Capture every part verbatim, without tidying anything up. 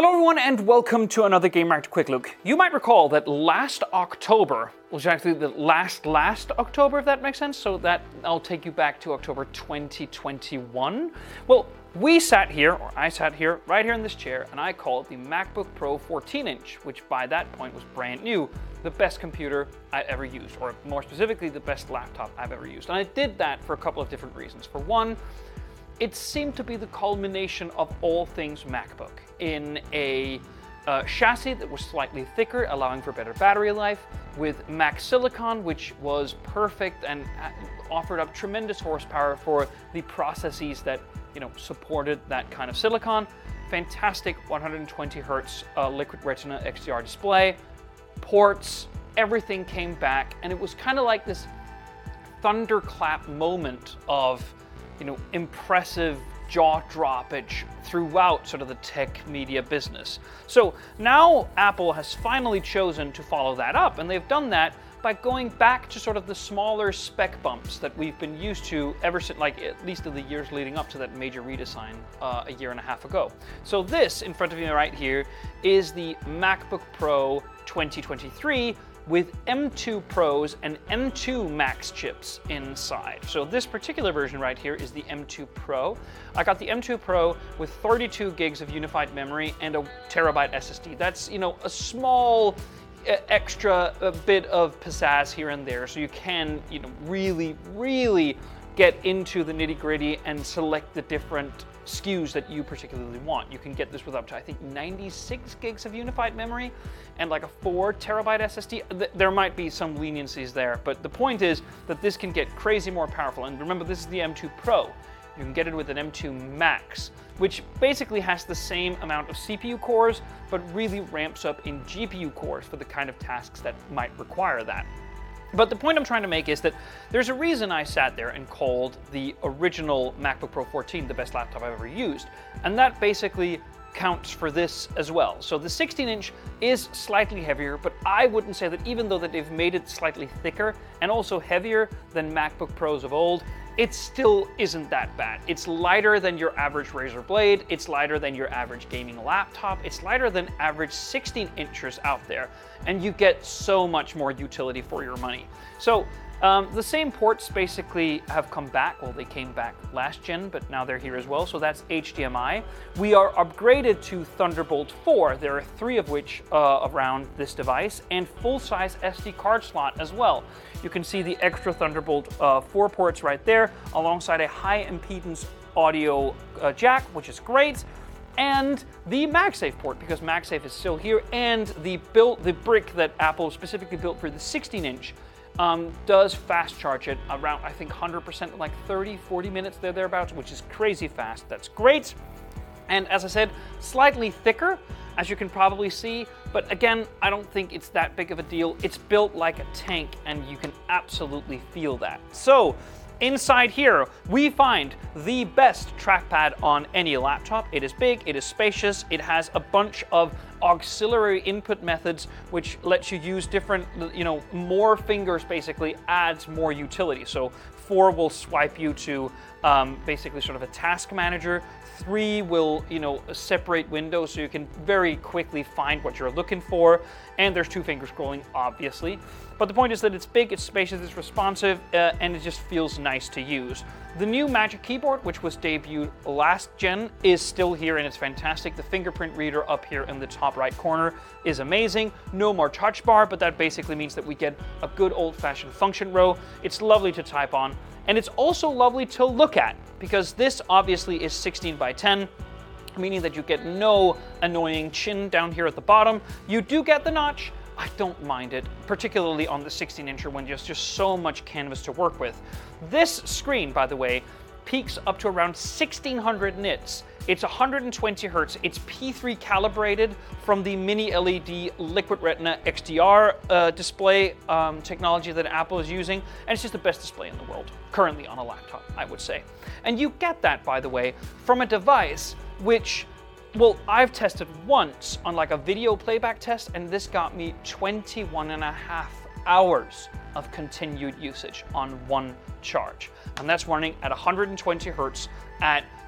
Hello everyone and welcome to another Gamereactor Quick Look. You might recall that last October, was actually the last last October, if that makes sense, so that I'll take you back to October twenty twenty-one. Well, we sat here, or I sat here, right here in this chair, and I called the MacBook Pro fourteen inch, which by that point was brand new, the best computer I ever used, or more specifically, the best laptop I've ever used. And I did that for a couple of different reasons. For one, it seemed to be the culmination of all things MacBook in a uh, chassis that was slightly thicker, allowing for better battery life, with Mac Silicon, which was perfect and offered up tremendous horsepower for the processes that you know supported that kind of silicon. Fantastic one hundred twenty hertz uh, Liquid Retina X D R display, ports, everything came back, and it was kind of like this thunderclap moment of you know, impressive jaw droppage throughout sort of the tech media business. So now Apple has finally chosen to follow that up, and they've done that by going back to sort of the smaller spec bumps that we've been used to ever since, like at least in the years leading up to that major redesign uh, a year and a half ago. So this in front of you right here is the MacBook Pro twenty twenty-three with M two Pros and M two Max chips inside. So this particular version right here is the M two Pro. I got the M two Pro with thirty-two gigs of unified memory and a terabyte S S D. That's, you know, a small uh, extra uh, bit of pizzazz here and there, so you can, you know, really, really get into the nitty-gritty and select the different S K Us that you particularly want. You can get this with up to, I think, ninety-six gigs of unified memory and like a four terabyte S S D. There might be some leniencies there, but the point is that this can get crazy more powerful. And remember, this is the M two Pro. You can get it with an M two Max, which basically has the same amount of C P U cores, but really ramps up in G P U cores for the kind of tasks that might require that. But the point I'm trying to make is that there's a reason I sat there and called the original MacBook Pro fourteen the best laptop I've ever used, and that basically counts for this as well. So the sixteen inch is slightly heavier, but I wouldn't say that even though that they've made it slightly thicker and also heavier than MacBook Pros of old, it still isn't that bad. It's lighter than your average Razer Blade, it's lighter than your average gaming laptop, it's lighter than average sixteen inchers out there, and you get so much more utility for your money. So um, the same ports basically have come back. Well, they came back last gen, but now they're here as well, so that's H D M I. We are upgraded to Thunderbolt four. There are three of which uh, around this device, and full-size S D card slot as well. You can see the extra Thunderbolt uh, four ports right there, alongside a high impedance audio uh, jack, which is great, and the MagSafe port, because MagSafe is still here, and the built the brick that Apple specifically built for the sixteen inch um, does fast charge it around, I think, one hundred percent in like thirty, forty minutes there, thereabouts, which is crazy fast. That's great. And as I said, slightly thicker, as you can probably see, but again, I don't think it's that big of a deal. It's built like a tank, and you can absolutely feel that. So inside here, we find the best trackpad on any laptop. It is big, it is spacious, it has a bunch of auxiliary input methods, which lets you use different, you know, more fingers basically adds more utility. So four will swipe you to um, basically sort of a task manager. Three will, you know, separate windows so you can very quickly find what you're looking for. And there's two finger scrolling, obviously. But the point is that it's big, it's spacious, it's responsive, uh, and it just feels nice to use. The new Magic Keyboard, which was debuted last gen, is still here, and it's fantastic. The fingerprint reader up here in the top right corner is amazing. No more touch bar, but that basically means that we get a good old-fashioned function row. It's lovely to type on, and it's also lovely to look at, because this obviously is sixteen by ten, meaning that you get no annoying chin down here at the bottom. You do get the notch. I don't mind it, particularly on the sixteen incher when there's just so much canvas to work with. This screen, by the way, peaks up to around sixteen hundred nits. It's one hundred twenty hertz. It's P three calibrated from the mini L E D Liquid Retina X D R uh, display um, technology that Apple is using, and it's just the best display in the world, currently on a laptop, I would say. And you get that, by the way, from a device which, well, I've tested once on like a video playback test, and this got me twenty-one and a half hours of continued usage on one charge. And that's running at one hundred twenty hertz at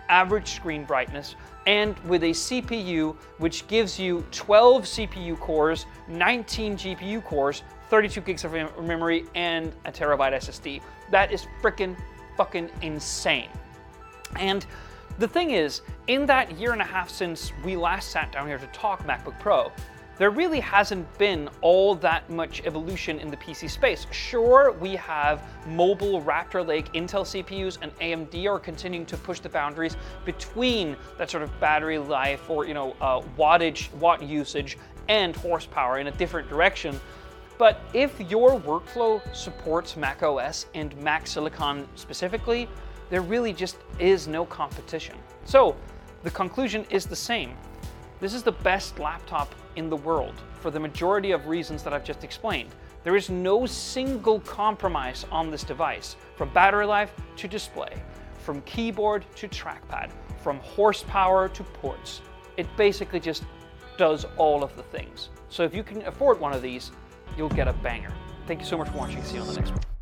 average screen brightness, and with a C P U which gives you twelve C P U cores, nineteen G P U cores, thirty-two gigs of memory, and a terabyte S S D. That is frickin' fucking insane. And the thing is, in that year and a half since we last sat down here to talk MacBook Pro, there really hasn't been all that much evolution in the P C space. Sure, we have mobile Raptor Lake Intel C P Us, and A M D are continuing to push the boundaries between that sort of battery life or, you know, uh, wattage, watt usage, and horsepower in a different direction. But if your workflow supports macOS and Mac Silicon specifically, there really just is no competition. So the conclusion is the same. This is the best laptop in the world for the majority of reasons that I've just explained. There is no single compromise on this device, from battery life to display, from keyboard to trackpad, from horsepower to ports. It basically just does all of the things. So if you can afford one of these, you'll get a banger. Thank you so much for watching. See you on the next one.